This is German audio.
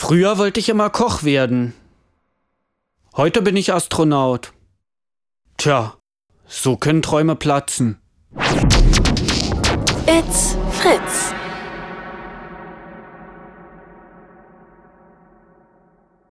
Früher wollte ich immer Koch werden. Heute bin ich Astronaut. Tja, so können Träume platzen. It's Fritz.